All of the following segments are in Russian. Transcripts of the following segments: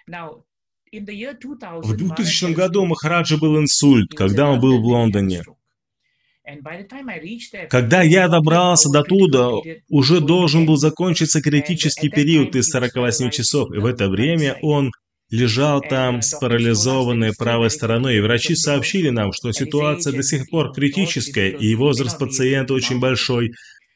В 2000 году у Махараджа был инсульт, когда он был в Лондоне. Когда я добрался до туда, уже должен был закончиться критический период из 48 часов, и в это время он лежал там с парализованной правой стороной, и врачи сообщили нам, что ситуация до сих пор критическая, и возраст пациента очень большой.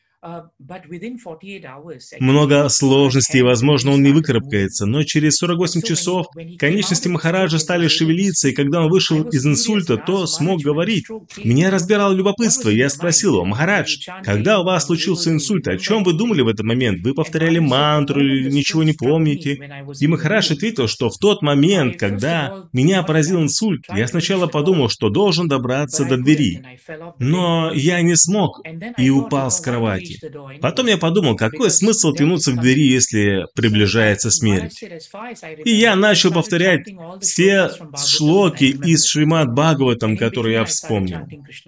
Много сложностей, и, возможно, он не выкарабкается, но через 48 часов конечности Махараджа стали шевелиться, и когда он вышел из инсульта, то смог говорить. Меня разбирало любопытство, и я спросил его: «Махарадж, когда у вас случился инсульт, о чем вы думали в этот момент? Вы повторяли мантру или ничего не помните?» И Махарадж ответил, что в тот момент, когда меня поразил инсульт, я сначала подумал, что должен добраться до двери, но я не смог и упал с кровати. Потом я подумал, какой смысл тянуться к двери, если приближается смерть. И я начал повторять все шлоки из Шримад Бхагаватам, которые я вспомнил.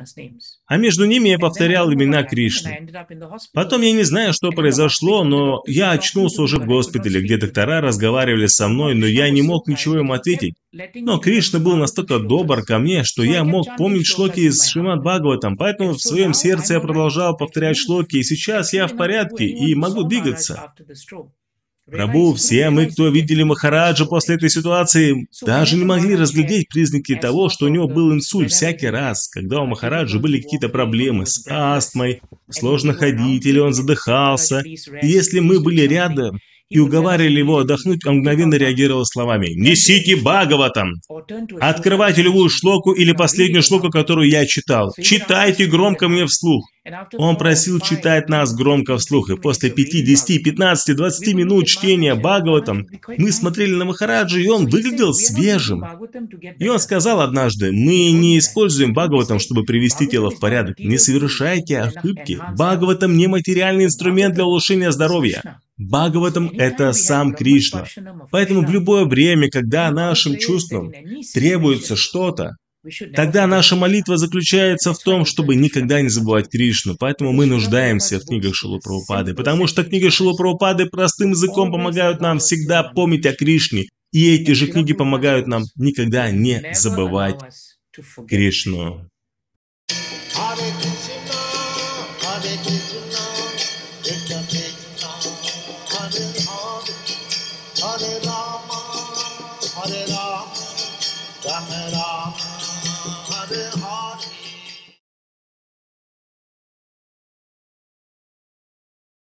А между ними я повторял имена Кришны. Потом я не знаю, что произошло, но я очнулся уже в госпитале, где доктора разговаривали со мной, но я не мог ничего им ответить. Но Кришна был настолько добр ко мне, что я мог помнить шлоки из Шримад Бхагаватам, поэтому в своем сердце я продолжал повторять шлоки, и сейчас я в порядке и могу двигаться. Прабху, все мы, кто видели Махараджа после этой ситуации, даже не могли разглядеть признаки того, что у него был инсульт всякий раз, когда у Махараджа были какие-то проблемы с астмой, сложно ходить или он задыхался. И если мы были рядом и уговаривали его отдохнуть, он мгновенно реагировал словами: «Несите Бхагаватам! Открывайте любую шлоку или последнюю шлоку, которую я читал. Читайте громко мне вслух». Он просил читать нас громко вслух, и после 5, 10, 15, 20 минут чтения Бхагаватам мы смотрели на Махараджа, и он выглядел свежим. И он сказал однажды: «Мы не используем Бхагаватам, чтобы привести тело в порядок. Не совершайте ошибки. Бхагаватам не материальный инструмент для улучшения здоровья. Бхагаватам – это сам Кришна. Поэтому в любое время, когда нашим чувствам требуется что-то, тогда наша молитва заключается в том, чтобы никогда не забывать Кришну. Поэтому мы нуждаемся в книгах Шрилы Прабхупады, потому что книги Шрилы Прабхупады простым языком помогают нам всегда помнить о Кришне. И эти же книги помогают нам никогда не забывать Кришну. Hare Rama, Rama Rama, Hare Hare.